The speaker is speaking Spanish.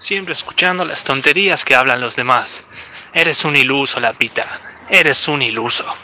siempre escuchando las tonterías que hablan los demás. Eres un iluso, Lapita. Eres un iluso.